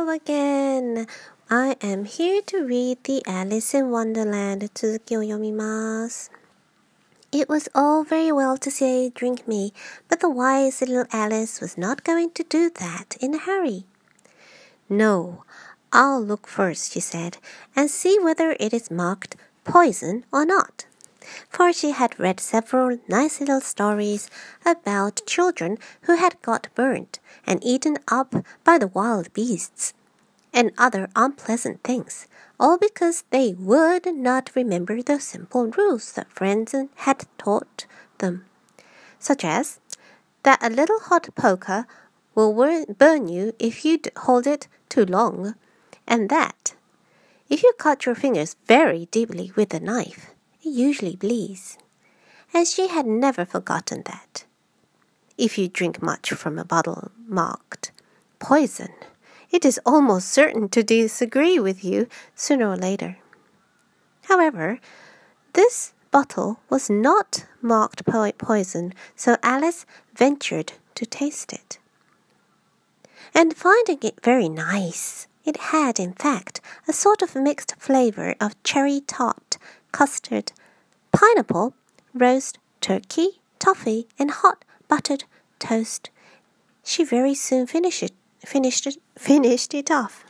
again. I am here to read the Alice in Wonderland 続きを読みます。It was all very well to say, drink me, but the wise little Alice was not going to do that in a hurry. No, I'll look first, she said, and see whether it is marked poison or not. For she had read several nice little stories about children who had got burnt and eaten up by the wild beasts, and other unpleasant things, all because they would not remember the simple rules that friends had taught them, such as that a little hot poker will burn you if you hold it too long, and that if you cut your fingers very deeply with a knife, it usually bleeds. And she had never forgotten that. If you drink much from a bottle marked poison, it is almost certain to disagree with you sooner or later. However, this bottle was not marked poison, so Alice ventured to taste it. And finding it very nice, it had, in fact, a sort of mixed flavor of cherry tart, custard, pineapple, roast turkey, toffee, and hot buttered toast. She very soon finished it off.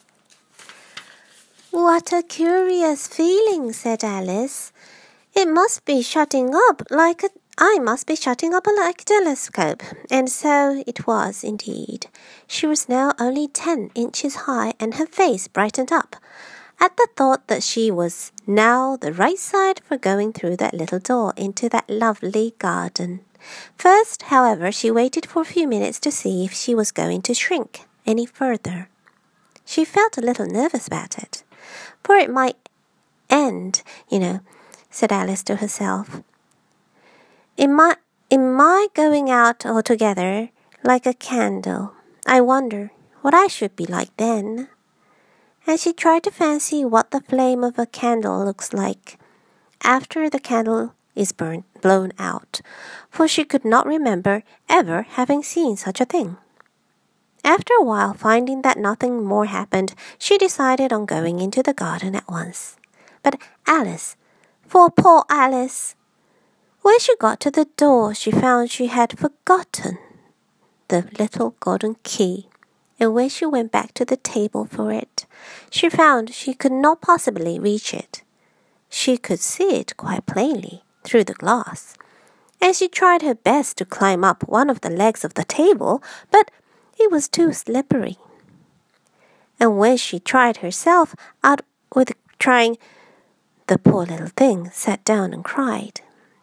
What a curious feeling, said Alice. I must be shutting up like a telescope. And so it was indeed. She was now only 10 inches high, and her face brightened up at the thought that she was now the right side for going through that little door into that lovely garden. First, however, she waited for a few minutes to see if she was going to shrink any further. She felt a little nervous about it, for it might end, said Alice to herself. In my going out altogether like a candle, I wonder what I should be like then. And she tried to fancy what the flame of a candle looks like after the candle is blown out, for she could not remember ever having seen such a thing. After a while, finding that nothing more happened, she decided on going into the garden at once. But Alice, for poor Alice, when she got to the door, she found she had forgotten the little golden key. And when she went back to the table for it, she found she could not possibly reach it. She could see it quite plainly through the glass, and she tried her best to climb up one of the legs of the table, but it was too slippery. And when she tried herself out with trying, the poor little thing sat down and cried.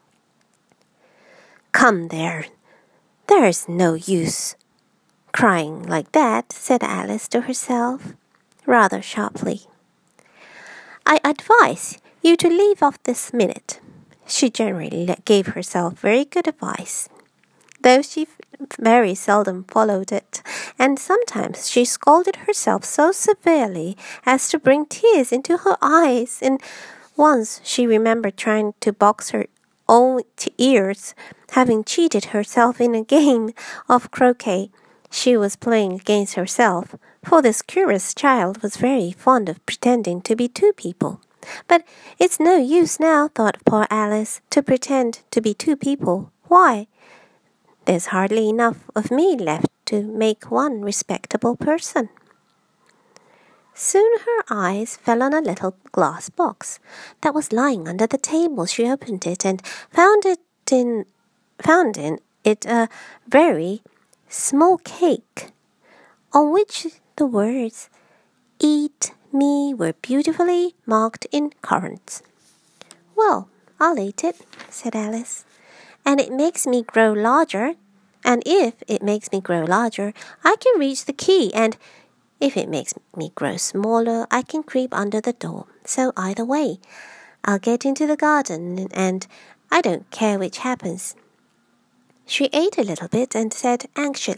Come there is no use crying like that, said Alice to herself, rather sharply. I advise you to leave off this minute. She generally gave herself very good advice, though she very seldom followed it, and sometimes she scolded herself so severely as to bring tears into her eyes, and once she remembered trying to box her own ears, having cheated herself in a game of croquet she was playing against herself, for this curious child was very fond of pretending to be two people. But it's no use now, thought poor Alice, to pretend to be two people. Why, there's hardly enough of me left to make one respectable person. Soon her eyes fell on a little glass box that was lying under the table. She opened it and found in it a very small cake, on which the words "Eat me" were beautifully marked in currants. Well, I'll eat it, said Alice, and it makes me grow larger, and if it makes me grow larger, I can reach the key, and if it makes me grow smaller, I can creep under the door. So either way, I'll get into the garden, and I don't care which happens. She ate a little bit and said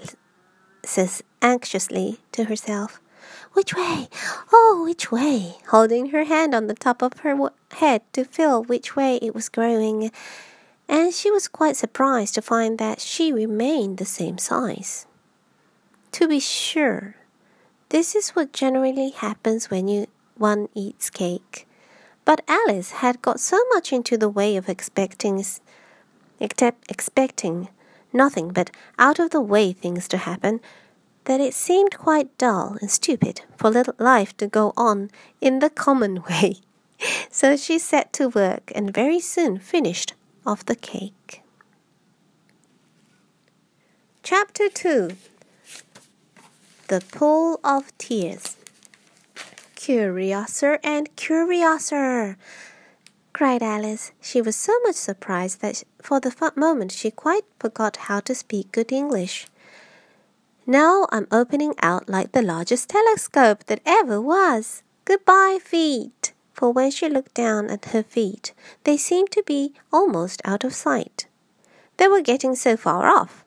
anxiously to herself, Which way? Oh, which way? Holding her hand on the top of her head to feel which way it was growing. And she was quite surprised to find that she remained the same size. To be sure, This is what generally happens when one eats cake. But Alice had got so much into the way of expecting nothing but out-of-the-way things to happen, that it seemed quite dull and stupid for little life to go on in the common way. So she set to work and very soon finished off the cake. Chapter 2. The Pool of Tears. "Curiouser and curiouser!" cried Alice. She was so much surprised that for the moment she quite forgot how to speak good English. "Now I'm opening out like the largest telescope that ever was. Goodbye, feet!" For when she looked down at her feet, they seemed to be almost out of sight. They were getting so far off.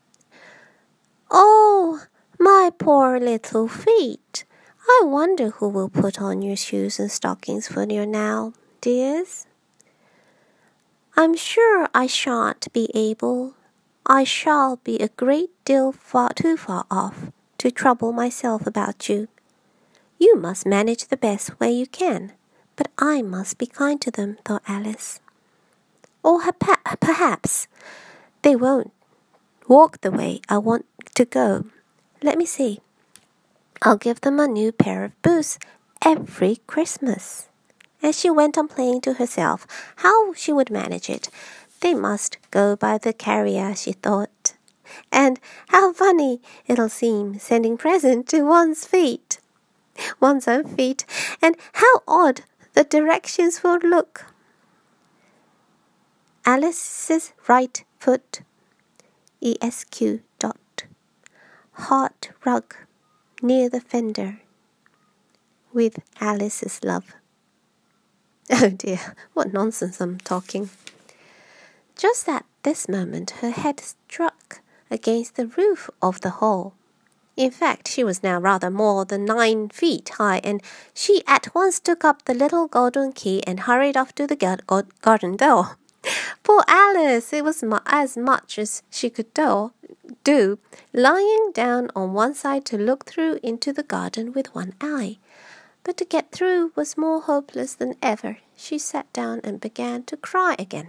"Oh, my poor little feet! I wonder who will put on your shoes and stockings for you now, dears?" "I'm sure I shan't be able. I shall be a great deal too far off to trouble myself about you. You must manage the best way you can, but I must be kind to them," thought Alice. "Or perhaps they won't walk the way I want to go. Let me see. I'll give them a new pair of boots every Christmas." And she went on playing to herself how she would manage it. They must go by the carrier, she thought. And how funny it'll seem sending presents to one's own feet, and how odd the directions will look. Alice's right foot, ESQ. Hot rug near the fender. With Alice's love. Oh dear, what nonsense I'm talking. Just at this moment her head struck against the roof of the hall. In fact, she was now rather more than 9 feet high, and she at once took up the little golden key and hurried off to the garden door. Poor Alice! It was as much as she could do, lying down on one side to look through into the garden with one eye. But to get through was more hopeless than ever. She sat down and began to cry again.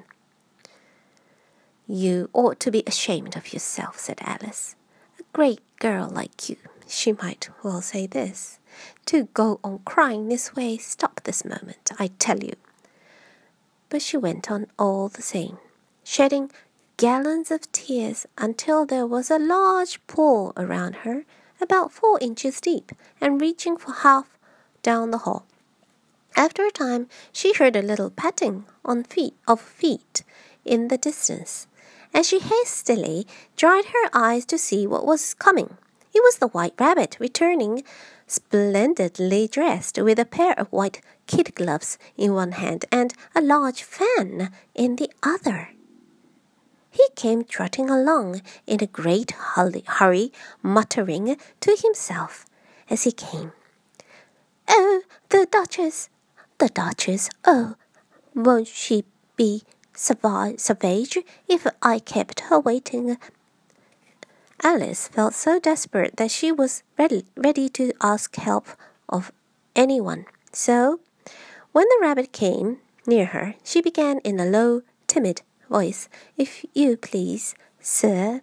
"You ought to be ashamed of yourself," said Alice. "A great girl like you," she might well say this, "to go on crying this way. Stop this moment, I tell you." But she went on all the same, shedding gallons of tears until there was a large pool around her, about 4 inches deep, and reaching for half down the hall. After a time she heard a little patting of feet in the distance, and she hastily dried her eyes to see what was coming. It was the White Rabbit returning, splendidly dressed, with a pair of white kid gloves in one hand and a large fan in the other. He came trotting along in a great hurry, muttering to himself as he came, "Oh, the Duchess! Oh, won't she be savage if I kept her waiting?" Alice felt so desperate that she was ready to ask help of anyone. So, when the rabbit came near her, she began in a low, timid voice, "If you please, sir."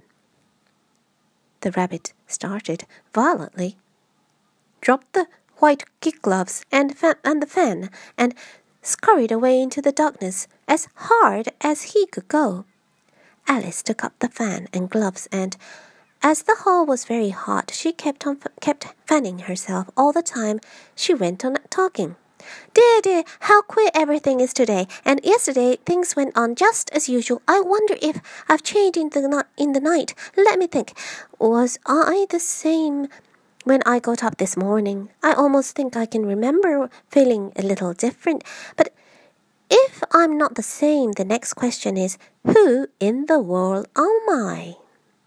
The rabbit started violently, dropped the white kid gloves and the fan, and scurried away into the darkness as hard as he could go. Alice took up the fan and gloves, and as the hall was very hot, she kept fanning herself all the time she went on talking. Dear, how queer everything is today, and yesterday things went on just as usual. I wonder if I've changed in the night. Let me think. Was I the same when I got up this morning? I almost think I can remember feeling a little different. But if I'm not the same, the next question is, who in the world am I?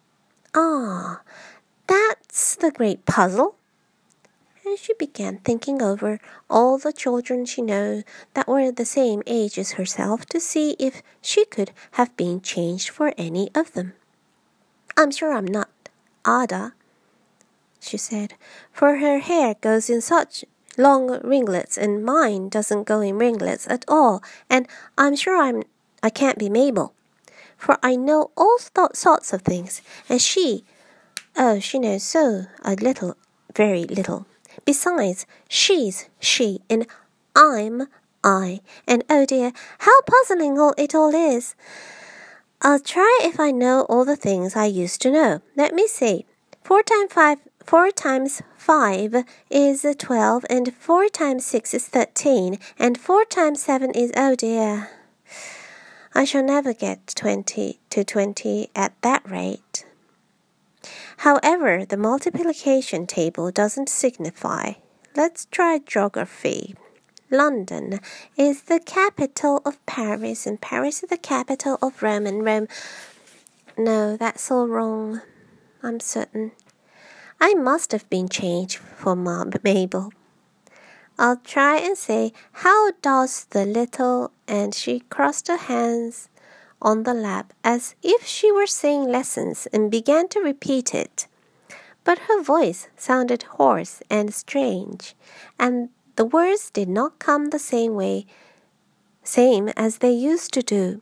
Ah, that's the great puzzle. And she began thinking over all the children she knew that were the same age as herself to see if she could have been changed for any of them. I'm sure I'm not Ada. she said, for her hair goes in such long ringlets, and mine doesn't go in ringlets at all, and I'm sure I can't be Mabel, for I know all sorts of things, and she knows so a little, very little. Besides, she's she, and I'm I, and oh dear, how puzzling it all is. I'll try if I know all the things I used to know. Let me see. 4 times 5 is 12, and 4 times 6 is 13, and 4 times 7 is, oh dear, I shall never get 20 to 20 at that rate. However, the multiplication table doesn't signify. Let's try geography. London is the capital of Paris, and Paris is the capital of Rome, and Rome... No, that's all wrong, I'm certain. I must have been changed for Mabel. I'll try and say, how does the little... And she crossed her hands on the lap as if she were saying lessons and began to repeat it. But her voice sounded hoarse and strange, and the words did not come the same as they used to do.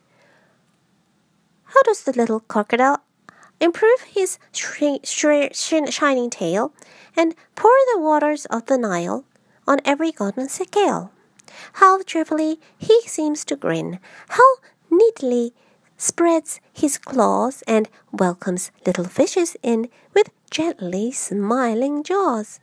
How does the little crocodile improve his shining tail and pour the waters of the Nile on every golden scale? How cheerfully he seems to grin, how neatly spreads his claws and welcomes little fishes in with gently smiling jaws.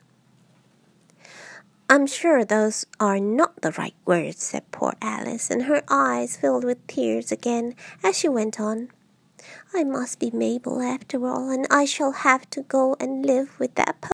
I'm sure those are not the right words, said poor Alice, and her eyes filled with tears again as she went on. I must be Mabel after all, and I shall have to go and live with that